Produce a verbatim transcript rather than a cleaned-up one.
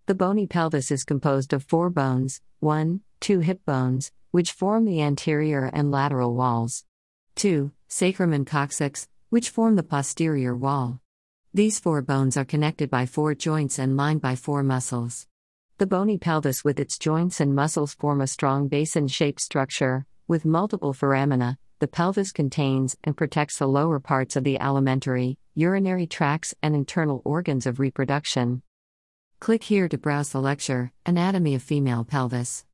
The bony pelvis is composed of four bones: one, two hip bones, which form the anterior and lateral walls; two, sacrum and coccyx, which form the posterior wall. These four bones are connected by four joints and lined by four muscles. The bony pelvis with its joints and muscles form a strong basin-shaped structure, with multiple foramina. The pelvis contains and protects the lower parts of the alimentary, urinary tracts and internal organs of reproduction. Click here to browse the lecture, Anatomy of Female Pelvis.